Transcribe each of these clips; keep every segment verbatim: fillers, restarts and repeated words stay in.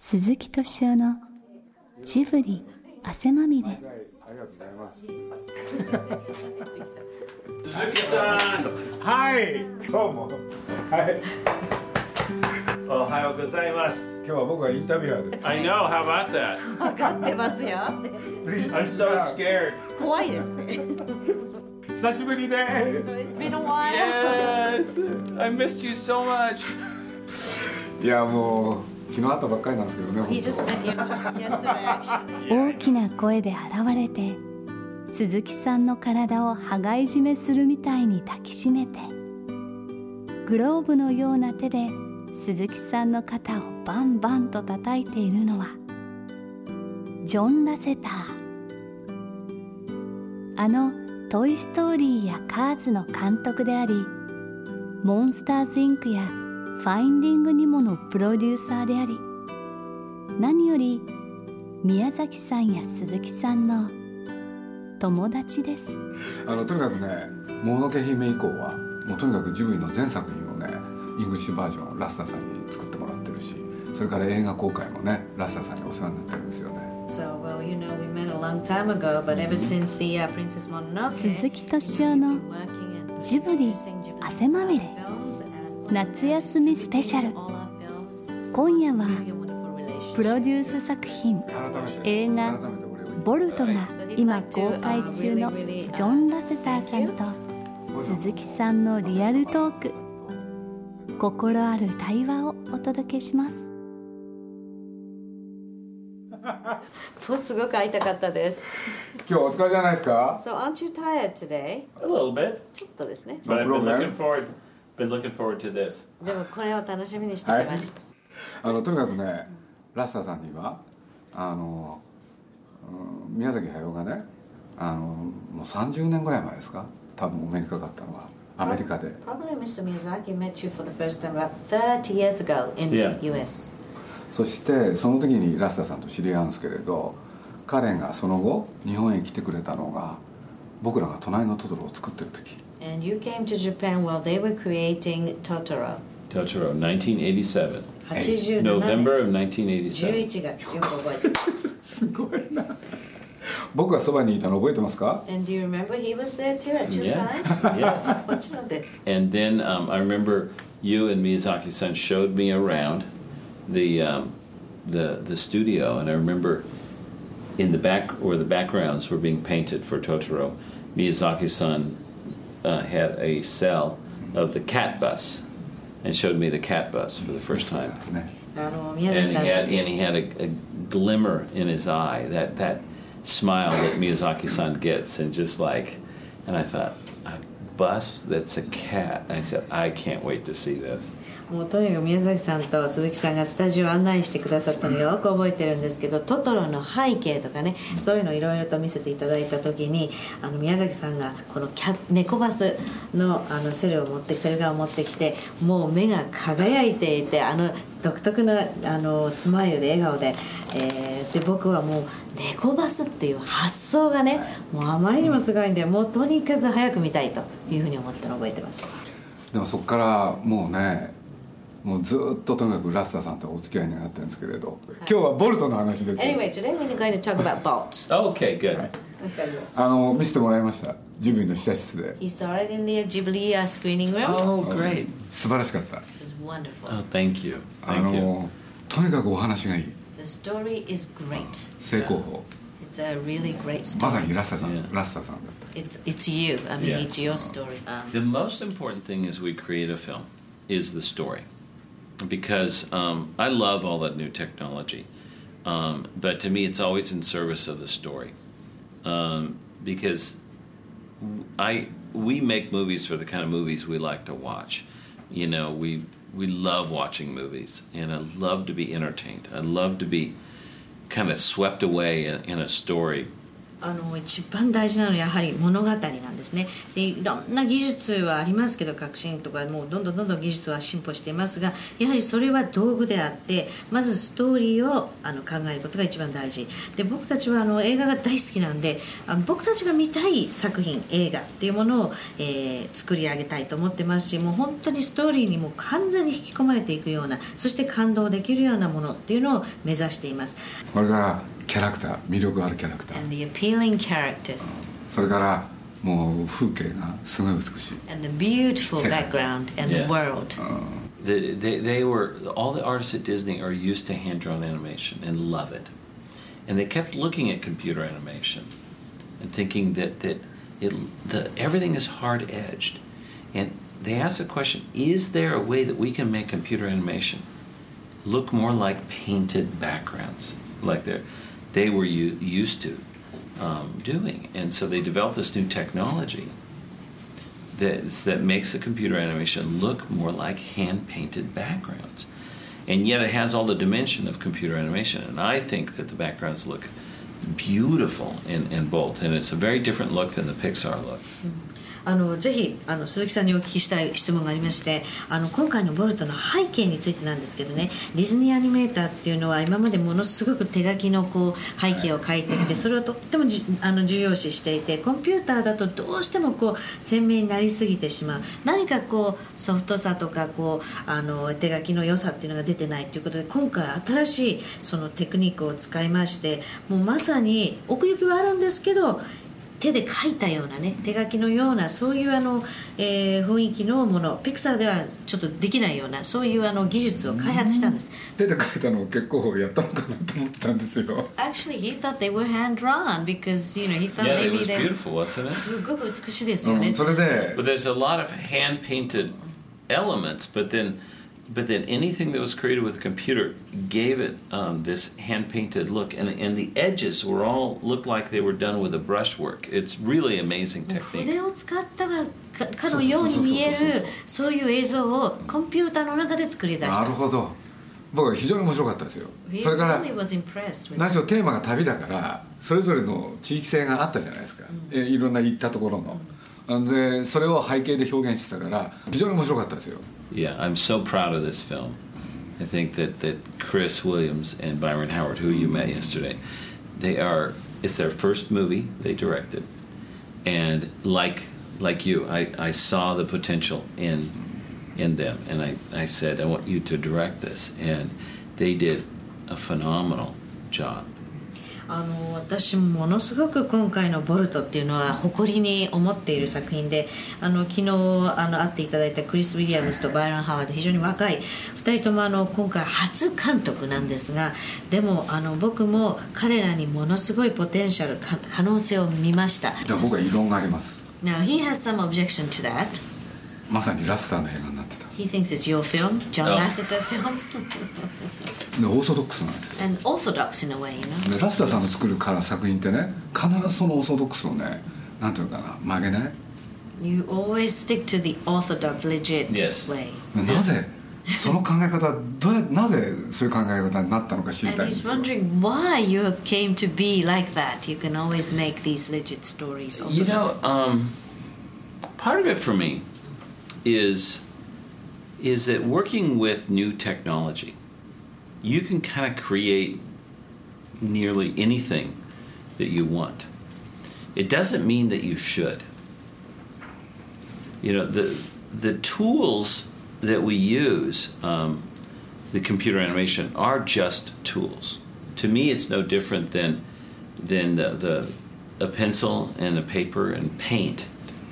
鈴木敏夫のジブリ汗まみれ。 ありがとうございます。鈴木さん、はい、どうも。はい。おはようございます。今日は僕はインタビュアーです。I know, how about that? 分かってますよ。 I'm so scared. 怖いですね。 久しぶりです。 So it's been a while. Yes, I missed you so much. いやもう。昨日会ったばっかりなんですけどね。 He just met you yesterday, actually. 大きな声で現れて、鈴木さんの体を羽交い締めするみたいに抱きしめて、グローブのような手で鈴木さんの肩をバンバンと叩いているのはジョン・ラセター。あのトイ・ストーリーやカーズの監督であり、モンスターズ・インクやファインディングニモのプロデューサーであり、何より宮崎さんや鈴木さんの友達です。 あのとにかくね、もののけ姫以降はもうとにかくジブリの全作品をね、イングリッシュバージョンをラスターさんに作ってもらってるし、それから映画公開もね、ラスターさんにお世話になってるんですよね。 So, well, you know, we met a long time ago, but ever since the、uh, Princess Mononoke, 鈴木敏夫のジブリ汗まみれ夏休みスペシャル。今夜はプロデュース作品映画ボルトが今公開中のジョン・ラセターさんと鈴木さんのリアルトーク、心ある対話をお届けします。 もうすごく会いたかったです。 今日お疲れじゃないですか。 So aren't you tired today? A little bit. ちょっとですね。 But I've been looking forward been looking forward to this. でもこれを楽しみにしてきました。 はい、あのとにかくね、ラスターさんにはあの、うん、宮崎駿がね、あのもうさんじゅうねんぐらい前ですか、多分お目にかかったのはアメリカで。 Probably Mister Miyazaki met you for the first time about thirty years ago in Yeah. ユーエス。 そしてその時にラスターさんと知り合うんですけれど、彼がその後日本へ来てくれたのが僕らが隣のトトロを作ってる時。 And you came to Japan while they were creating Totoro. Totoro, nineteen eighty-seven. はちじゅうななねん November of nineteen eighty-seven. じゅういちがつ、よく覚えてます。 すごいな。僕がそばにいたの覚えてますか？ And do you remember he was there too at your Yeah. side? Yes. もちろんです。 And then um, I remember you and Miyazaki-san showed me around the um, the the studio, and I remember in the back where the backgrounds were being painted for Totoro, Miyazaki-san uh, had a cell of the cat bus and showed me the cat bus for the first time. あの宮 And 崎 he さん had and he had a, a glimmer in his eye, that that smile that Miyazaki-san gets, and just like, and I thought, a bus that's a cat. And I said, I can't wait to see this. もうとにかく宮崎さんと鈴木さんがスタジオを案内してくださったのをよく覚えてるんですけど、トトロの背景とかね、そういうのをいろいろと見せていただいた時に、あの宮崎さんがこのキャ猫バス の, あのセルを持ってセル画を持ってきて、もう目が輝いていて、あの独特なあのスマイルで笑顔で、えー、で僕はもう猫バスっていう発想がね、もうあまりにもすごいんで、もうとにかく早く見たいというふうに思ったのを覚えてます。 でもそこからもうね、もうずっととにかくラスターさんとお付き合いになってるんですけれど、今日はボルトの話ですよ。 Anyway, today we're going to talk about Bolt. Okay, good. わかります。 あの見せてもらいました、ジブリの試写室で。 He saw it in the Ghibli uh, screening room. Oh, great. 素晴らしかった。 It was wonderful. Oh, thank you. あ Thank you. のとにかくお話がいい。 The story is great. 正攻法。 It's a really great まさに story. ラスターさん、 Yeah. ラスターさんだった。 It's it's you. I mean, Yeah. it's your story. Um, The most important thing as we create a film is the story. Because um, I love all that new technology. Um, but to me, it's always in service of the story. Um, because I we make movies for the kind of movies we like to watch. You know, we we love watching movies, and I love to be entertained. I love to be kind of swept away in, in a story あの一番大事なのはやはり物語なんですね。でいろんな技術はありますけど、革新とかもうどんどんどんどん技術は進歩していますが、やはりそれは道具であって、まずストーリーをあの考えることが一番大事で、僕たちはあの映画が大好きなんで、あの僕たちが見たい作品映画っていうものを、えー、作り上げたいと思ってますし、もう本当にストーリーにも完全に引き込まれていくような、そして感動できるようなものっていうのを目指しています。 これからキャラクター、魅力あるキャラクター And the appealing characters、 それからもう風景がすごい美しい And the beautiful background and the world、 The, they, they were all the artists at Disney are used to hand-drawn animation and love it, and they kept looking at computer animation and thinking that that it the everything is hard-edged, and they asked the question: is there a way that we can make computer animation look more like painted backgrounds, like they they were u- used to um, doing? And so they developed this new technology that that makes the computer animation look more like hand-painted backgrounds, and yet it has all the dimension of computer animation. And I think that the backgrounds look beautiful in, in Bolt, and it's a very different look than the Pixar look. あのぜひあの鈴木さんにお聞きしたい質問がありまして、あの今回のボルトの背景についてなんですけどね、ディズニーアニメーターっていうのは今までものすごく手書きのこう背景を描いてきて、それをとってもじあの重要視していて、コンピューターだとどうしてもこう鮮明になりすぎてしまう、何かこうソフトさとかこうあの手書きの良さっていうのが出てないということで、今回新しいそのテクニックを使いまして、もうまさに奥行きはあるんですけど、手で描いたようなね、手書きのようなそういうあの、えー、雰囲気のもの、ピクサーではちょっとできないようなそういうあの技術を開発したんです。 手で描いたのを結構やったのかなと思ってたんですよ。 Actually, he thought they were hand drawn because you know he thought Yeah, maybe it was they beautiful, wasn't it? すごく美しいですよね。 うん、それで But there's a lot of hand-painted elements, but then, but then anything that was created with a computer gave it um, this hand-painted look, and and the edges were all looked like they were done with a brushwork. It's really amazing 筆 technique. を使ったがかかのように見えるそういう映像をコンピューターの中で作り出した。 なるほど。僕は非常に面白かったですよ。それから何しろテーマが旅だからそれぞれの地域性があったじゃないですか、うん、えいろんな行ったところの、うん、でそれを背景で表現してたから非常に面白かったですよ。 Yeah, I'm so proud of this film. I think that, that Chris Williams and Byron Howard, who you met yesterday, they are, it's their first movie they directed. And like like you, I, I saw the potential in in them. And I, I said, I want you to direct this. And they did a phenomenal job. あの私もものすごく今回のボルトっていうのは誇りに思っている作品で、あの昨日あの会っていただいたクリス・ウィリアムズとバイロン・ハワード、非常に若いふたりともあの今回初監督なんですが、でもあの僕も彼らにものすごいポテンシャル、可能性を見ました。 でも僕は異論があります。 Now he has some objection to that. まさにラスターの映画になってた。 He thinks it's your film, John Lasseter film. でオーソドックスなんですよ。 And orthodox in a way, you know. でラスターさんの作るから作品ってね、必ずそのオーソドックスをね、なんていうのかな、曲げない。 You always stick to the orthodox, legit Yes. way. なぜその考え方どうやなぜそういう考え方になったのか知り And たいんで he's すよ。 wondering why you came to be like that. You can always make these legit stories. You know, orthodox. um, part of it for me is is that working with new technology, you can kind of create nearly anything that you want. It doesn't mean that you should. You know, the the tools that we use, um, the computer animation, are just tools. To me, it's no different than than the, the a pencil and a paper and paint.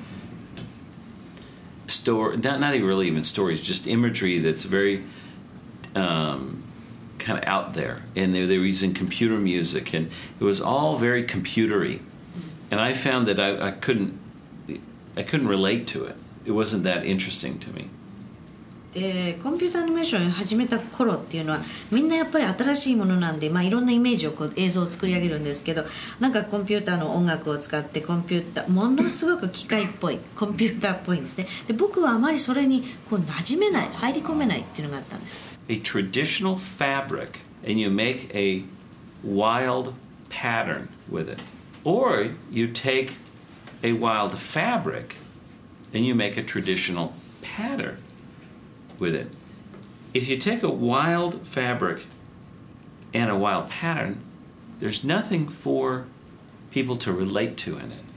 Store, not not even really even stories, just imagery that's very um, kind of out there. And they, they were using computer music, and it was all very computery. And I found that I, I couldn't I couldn't relate to it. It wasn't that interesting to me. でコンピューターアニメーションを始めた頃っていうのはみんなやっぱり新しいものなんで、まあ、いろんなイメージをこう映像を作り上げるんですけど、なんかコンピューターの音楽を使ってコンピューターものすごく機械っぽいコンピューターっぽいんですね。で僕はあまりそれにこう馴染めない、入り込めないっていうのがあったんです。 A traditional fabric, and you make a wild pattern with it. Or you take a wild fabric and you make a traditional pattern with it. If you take a wild fabric and a wild pattern, there's nothing for people to relate to in it.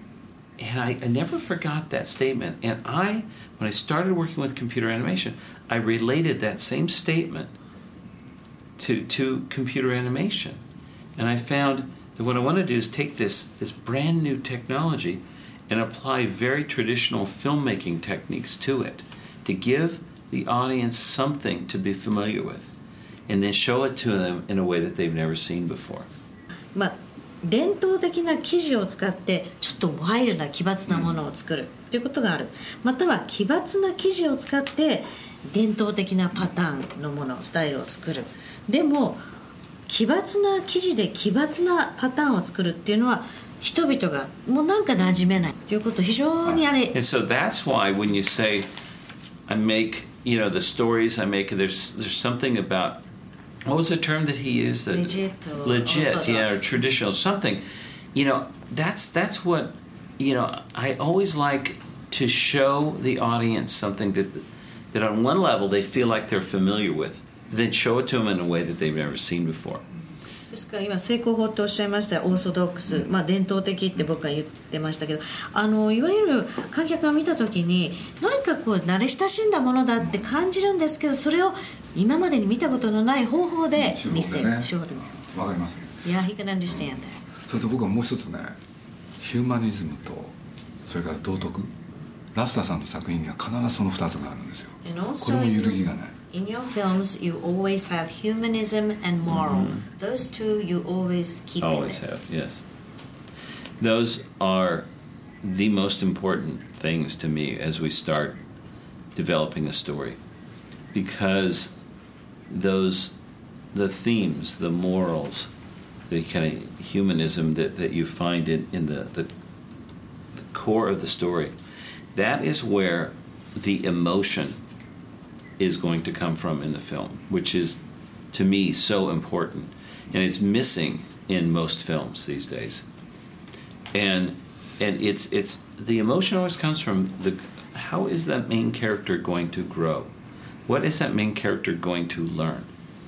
And I, I never forgot that statement. And I, when I started working with computer animation, I related that same statement to, to computer animation. And I found that what I want to do is take this, this brand new technology and apply very traditional filmmaking techniques to it to give the audience something to be familiar with and then show it to them in a way that they've never seen before. まあ伝統的な生地を使ってちょっとワイルドな奇抜なものを作るということがある。または奇抜な生地を使って伝統的なパターンのものスタイルを作る。でも奇抜な生地で奇抜なパターンを作るっていうのは人々がもうなんか馴染めないということ非常にあれ。 And so that's why when you say I make, you know, the stories I make, there's there's something about, what was the term that he used? The, legit or legit, orthodox. Yeah, or traditional, something. You know, that's that's what, you know, I always like to show the audience something that that on one level they feel like they're familiar with, then show it to them in a way that they've never seen before. ですから今成功法っておっしゃいましたオーソドックス、まあ、伝統的って僕は言ってましたけど、あのいわゆる観客が見た時に何かこう慣れ親しんだものだって感じるんですけど、それを今までに見たことのない方法で見せる手法で見せる。 わかりますね。 いや、he can understand that。 それと僕はもう一つね、ヒューマニズムとそれから道徳、ラスタさんの作品には必ずその二つがあるんですよ。これも揺るぎがない。 In your films, you always have humanism and moral. Mm-hmm. Those two you always keep always in it. Have, yes. Those are the most important things to me as we start developing a story. Because those, the themes, the morals, the kind of humanism that, that you find in, in the, the, the core of the story, that is where the emotion is going to come from in the film, which is, to me, so important. And it's missing in most films these days. And and it's it's the emotion always comes from the how is that main character going to grow? What is that main character going to learn?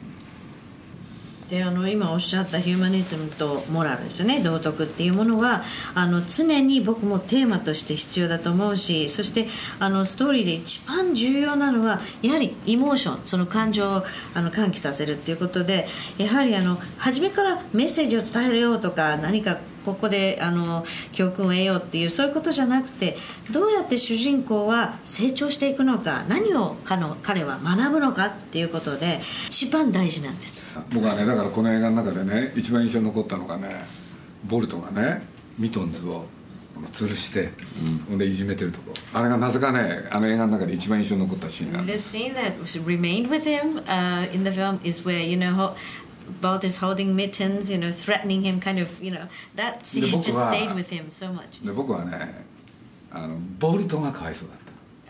であの今おっしゃったヒューマニズムとモラルですよね、道徳っていうものはあの常に僕もテーマとして必要だと思うし、そしてあのストーリーで一番重要なのはやはりエモーション、その感情をあの喚起させるっていうことで、やはりあの初めからメッセージを伝えようとか何かここであの教訓を得ようっていうそういうことじゃなくて、どうやって主人公は成長していくのか、何を彼の彼は学ぶのかっていうことで一番大事なんです。 僕はね、だからこの映画の中でね一番印象に残ったのがね、ボルトがねミトンズを吊るして、うん、でいじめてるとこ、あれがなぜかねあの映画の中で一番印象に残ったシーンなんです。 The scene that remained with him、uh, in the film is where you know Bolt is holding mittens, you know, threatening him, kind of, you know, that scene just stayed with him so much. で僕はね、あのボルトがかわいそうだった。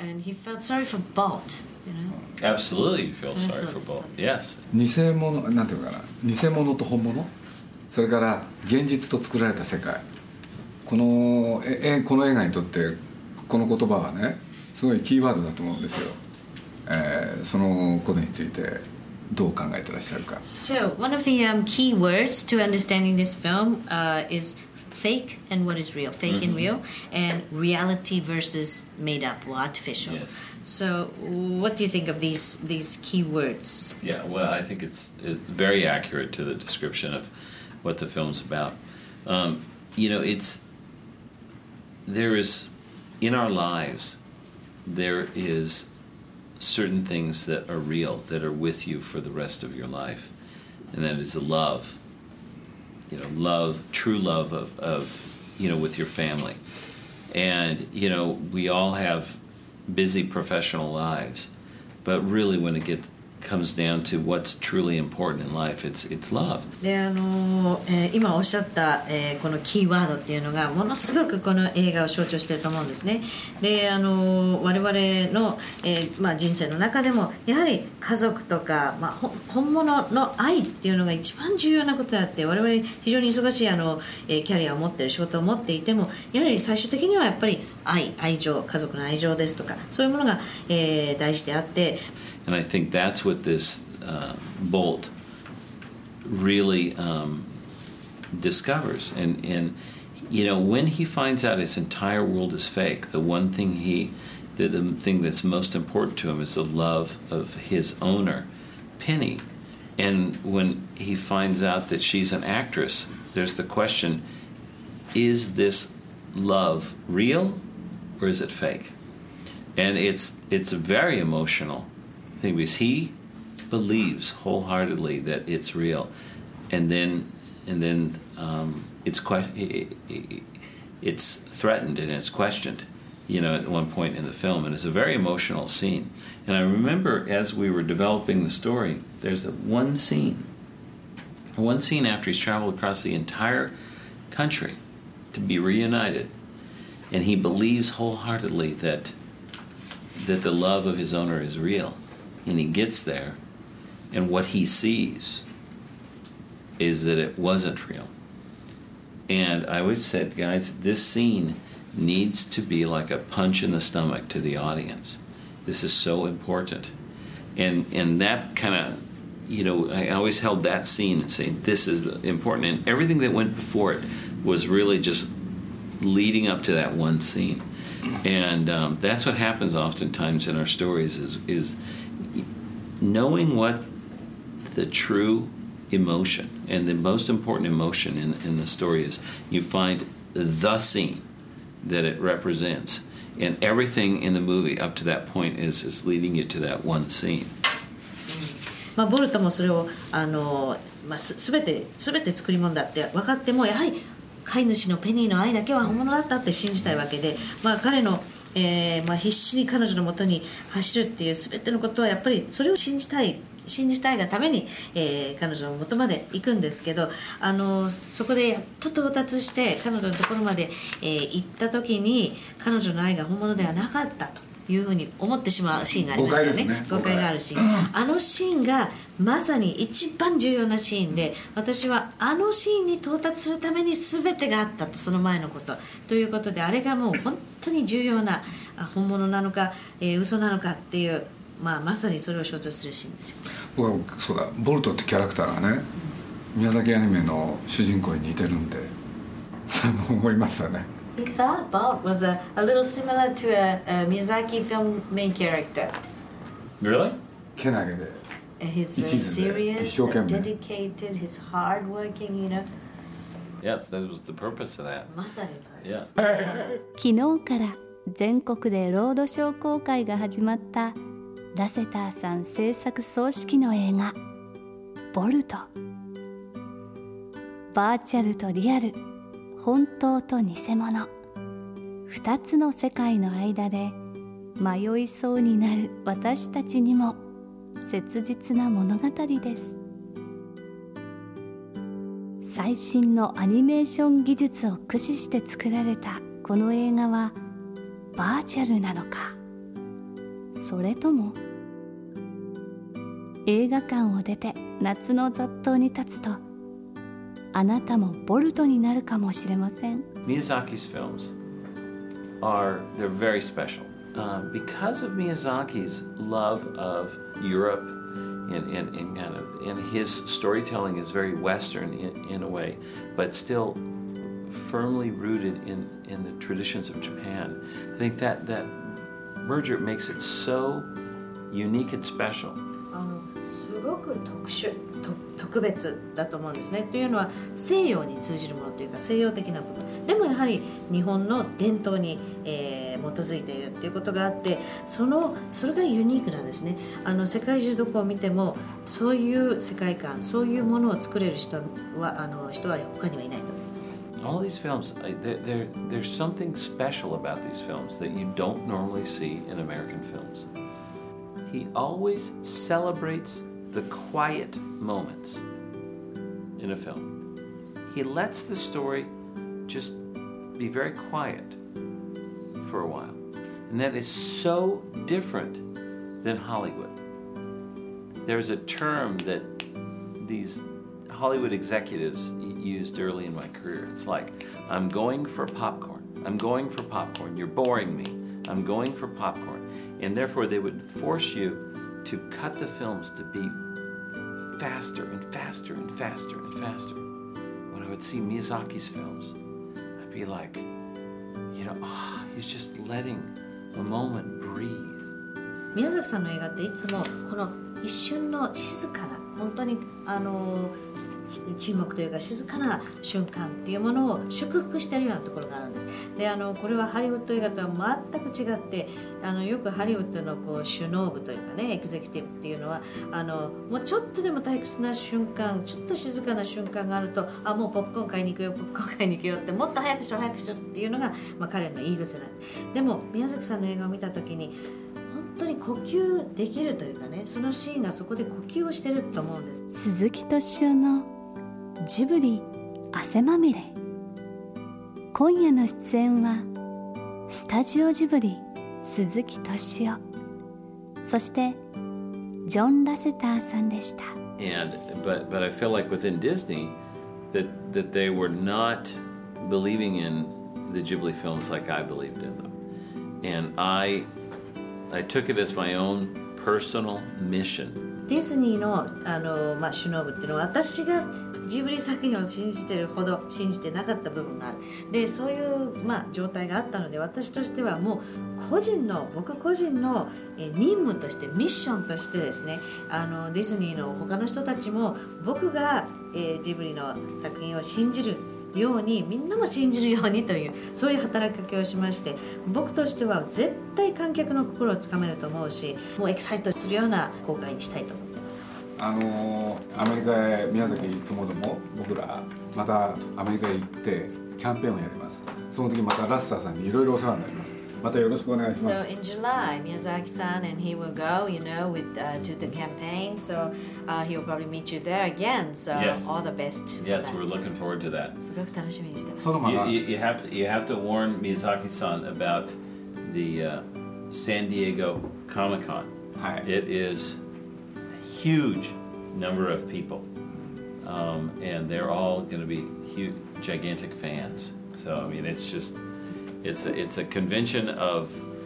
And he felt sorry for Bolt, you know. Absolutely, you feel sorry for Bolt. Yes. 偽物なんていうかな、偽物と本物、それから現実と作られた世界。このえこの映画にとってこの言葉はね、すごいキーワードだと思うんですよ。えー、そのことについて。どう考えてらっしゃるか。 So one of the um, key words to understanding this film uh, is fake and what is real, fake mm-hmm. and real, and reality versus made up or artificial. Yes. So what do you think of these these key words? Yeah, well, I think it's, it's very accurate to the description of what the film's about. Um, you know, it's there is in our lives there is certain things that are real, that are with you for the rest of your life, and that is the love, you know, love, true love of, of, you know, with your family. And, you know, we all have busy professional lives, but really when it gets comes down to what's truly important in life. It's, it's love. であの、えー、今おっしゃった、えー、このキーワードっていうのがものすごくこの映画を象徴していると思うんですね。であの我々の、えーまあ、人生の中でもやはり家族とか、まあ、本物の愛っていうのが一番重要なことであって、我々非常に忙しいあの、えー、キャリアを持っている仕事を持っていてもやはり最終的にはやっぱり愛、愛情、家族の愛情ですとかそういうものが、えー、大事であって、 And I think that's what this uh, Bolt really um, discovers. And, and, you know, when he finds out his entire world is fake, the one thing he, the, the thing that's most important to him is the love of his owner, Penny. And when he finds out that she's an actress, there's the question, is this love real or is it fake? And it's it's very emotional thing because he believes wholeheartedly that it's real, and then and then um, it's que- it's threatened and it's questioned, you know, at one point in the film, and it's a very emotional scene. And I remember as we were developing the story, there's a one scene, one scene after he's traveled across the entire country to be reunited, and he believes wholeheartedly that that the love of his owner is real. And he gets there, and what he sees is that it wasn't real. And I always said, guys, this scene needs to be like a punch in the stomach to the audience. This is so important. And and that kind of, you know, I always held that scene and saying, this is important. And everything that went before it was really just leading up to that one scene. And um, that's what happens oftentimes in our stories is, is knowing what the true emotion and the most important emotion in, in the story is. You find the scene that it represents, and everything in the movie up to that point is, is leading you to that one scene. まあ、ボルトもそれをあの、まあ、す全て全て作り物だって分かってもやはり飼い主のペニーの愛だけは本物だったって信じたいわけで、まあ、彼の、えーまあ、必死に彼女のもとに走るっていう全てのことはやっぱりそれを信じたい信じたいがために、えー、彼女の元まで行くんですけど、あのそこでやっと到達して彼女のところまで、えー、行った時に彼女の愛が本物ではなかったというふうに思ってしまうシーンがありましたよね。 誤解ですね。 誤解があるシーン、あのシーンがまさに一番重要なシーンで、私はあのシーンに到達するために全てがあったと、その前のことということで、あれがもう本当に重要な本物なのか、えー、嘘なのかっていう、まあ、まさにそれを象徴するシーンですよ。 僕はそうだ、ボルトってキャラクターがね、宮崎アニメの主人公に似てるんで、それも思いましたね。 He thought Bolt was a, a little similar to a, a Miyazaki film main character. Really? けなげで He's very 一途で serious, 一生懸命 dedicated, he's hardworking, you know. Yes, that was the purpose of that. まさにそうで Yeah. す。 昨日から全国でロードショー公開が始まったラセターさん制作総指揮の映画ボルト。バーチャルとリアル、本当と偽物、二つの世界の間で迷いそうになる私たちにも切実な物語です。最新のアニメーション技術を駆使して作られたこの映画はバーチャルなのか、それとも映画館を出て夏の雑踏に立つとあなたもボルトになるかもしれません。 Miyazaki's films are, they're very special uh, because of Miyazaki's love of Europe and, and, and kind of, and his storytelling is very Western in, in a way, but still firmly rooted in, in the traditions of Japan. I think that, that merger makes it so unique and special. あのすごく特殊と特別だと思うんですね。というのは西洋に通じるものというか西洋的な部分でもやはり日本の伝統に、えー、基づいているっていうことがあって、そのそれがユニークなんですね。あの世界中どこを見てもそういう世界観、そういうものを作れる人はあの人は他にはいないと思います。 All these films, there, there, there's something special about these films that you don't normally see in American films. he always celebrates the quiet moments in a film. He lets the story just be very quiet for a while. And that is so different than Hollywood. There's a term that these Hollywood executives used early in my career. It's like, I'm going for popcorn. I'm going for popcorn. You're boring me. I'm going for popcorn. And therefore they would force you to cut the films to be faster and faster and faster and faster. When I would see Miyazaki's films, I'd be like, you know, oh, he's just letting a moment breathe. 宮崎さんの映画っていつもこの一瞬の静かな本当にあの沈黙というか静かな瞬間っていうものを祝福しているようなところがあるんです。であのこれはハリウッド映画とは全く違ってあのよくハリウッドのこう首脳部というかねエグゼクティブっていうのはあのもうちょっとでも退屈な瞬間ちょっと静かな瞬間があるとあもうポップコーン買いに行くよポップコーン買いに行くよってもっと早くしろ早くしろっていうのが、まあ、彼の言い癖なんです。でも宮崎さんの映画を見た時に本当に呼吸できるというかねそのシーンがそこで呼吸をしてると思うんです。 鈴木敏夫のジブリ汗まみれ。今夜の出演はスタジオジブリ鈴木敏夫そしてジョン・ラセターさんでした。 And but but I feel like within Disney that that they were not believing in the Ghibli films like I believed in them. And I I took it as my own personal mission. ディズニーの、あのまあ、首脳部っていうのは私がジブリ作品を信じてるほど信じてなかった部分がある。でそういう、まあ、状態があったので私としてはもう個人の僕個人のえ任務としてミッションとしてですねあのディズニーの他の人たちも僕が、えー、ジブリの作品を信じるようにみんなも信じるようにというそういう働きかけをしまして僕としては絶対観客の心をつかめると思うしもうエキサイトするような公開にしたいと思ってます。 あのアメリカへ宮崎行くものも僕らまたアメリカへ行ってキャンペーンをやります。その時またラッサーさんにいろいろお世話になります。またよろしくお願いします。 So in July, Miyazaki-san and he will go, you know, with uh, to the campaign. So uh, he will probably meet you there again. So Yes. all the best. For Yes, that. we're looking forward to that. すごく楽しみにしてます。 そのま You, ま you, you have to you have to warn Miyazaki-san about the uh, San Diego Comic-Con. はい It is a huge number of people, um, and they're all going to be huge, gigantic fans. So I mean, it's just it's a, it's a convention of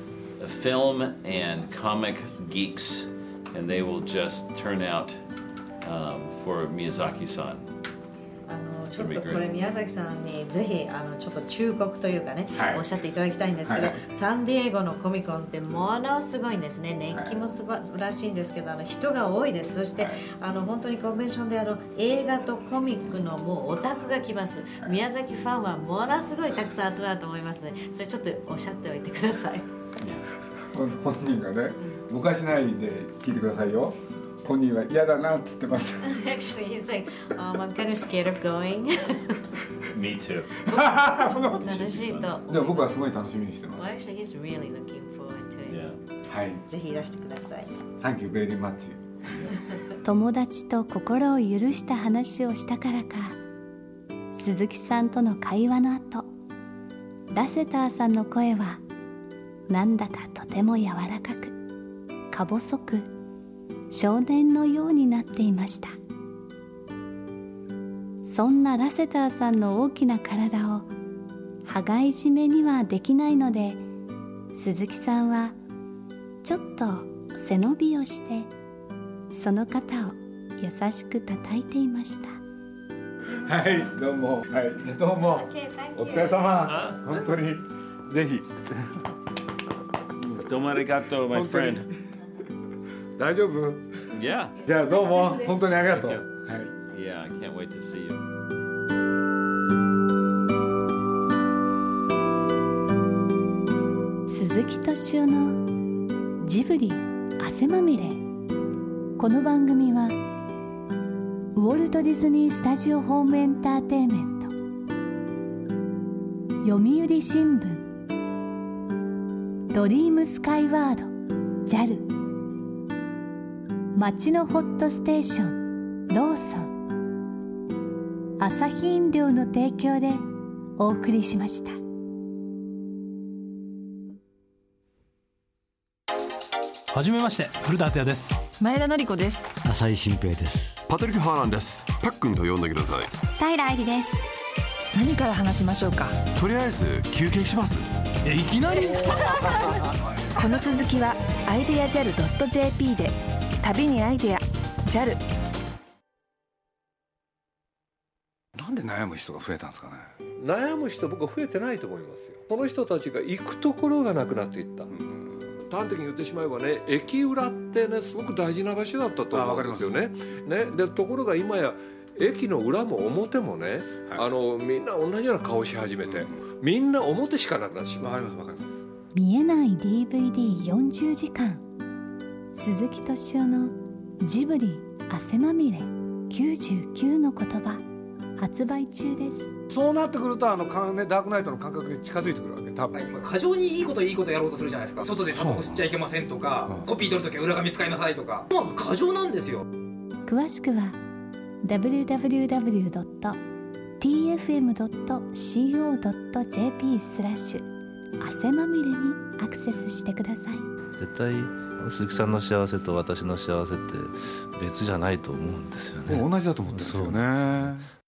film and comic geeks, and they will just turn out um, for Miyazaki-san. あのちょっとこれ宮崎さんにぜひあのちょっと忠告というかね、 はいおっしゃっていただきたいんですけど、 はいサンディエゴのコミコンってものすごいんですね。熱気も素晴らしいんですけどあの人が多いです。そして、 はいあの本当にコンベンションであの映画とコミックのもうオタクが来ます、はい、宮崎ファンはものすごいたくさん集まると思いますね。それちょっとおっしゃっておいてください。 本人がね昔ないで聞いてくださいよ。本人は嫌だなって言ってます。 Actually, he's like, um, I'm kind of scared of going. Me too. 楽しいと。 でも僕はすごい楽しみにしてま Well, す。 actually, he's really looking forward to it. Yeah. はい。 ぜひいらしてください。 Thank you very much. 友達と心を許した話をしたからか鈴木さんとの会話の後ラセターさんの声はなんだかとても柔らかくか細く少年のようになっていました。そんなラセターさんの大きな体を羽交い締めにはできないので鈴木さんはちょっと背伸びをしてその肩を優しく叩いていました。 はいどうも。はいじゃあどうも。 Okay, thank you. お疲れ様。本当にぜひ。 Domo arigato, my 本当に friend. 大丈夫？ Yeah. じゃあどうも本当にありがとう。 Thank はい。 Yeah, I can't wait to see you. 鈴木敏夫のジブリ汗まみれ。この番組はウォルト・ディズニー・スタジオ・ホーム・エンターテインメント読売新聞ドリームスカイワード ジャル町のホットステーションローソン、アサヒ飲料の提供でお送りしました。 はじめまして、古田敦也です。 前田典子です。 浅井新平です。 パトリック・ハーランです。パックンと呼んでください。 平愛理です。何から話しましょうか。 とりあえず休憩します。 え、いきなりこの続きはアイデア ジャル ドット ジェーピー で。旅にアイデア ジャル。 なんで悩む人が増えたんですかね。 悩む人、僕は増えてないと思いますよ。その人たちが行くところがなくなっていった。端的に言ってしまえばね、駅裏ってね、すごく大事な場所だったと思うんですよね。ね、でところが今や駅の裏も表もね、はい、あのみんな同じような顔し始めて、うん、みんな表しかなくなってしまう。わかりますわかります。 見えない ディーブイディーよんじゅうじかん、鈴木敏夫のジブリ汗まみれきゅうじゅうきゅうの言葉発売中です。 そうなってくるとあのか、ね、ダークナイトの感覚に近づいてくるわけ。多分今過剰にいいこといいことやろうとするじゃないですか。外でタバコ吸っちゃいけませんとか、うん、コピー取るときは裏紙使いなさいとか、もう過剰なんですよ。 詳しくは ダブリューダブリューダブリュードットティーエフエムドットコードットジェーピー スラッシュ汗まみれにアクセスしてください。 絶対鈴木さんの幸せと私の幸せって別じゃないと思うんですよね。 同じだと思ってるんですよね。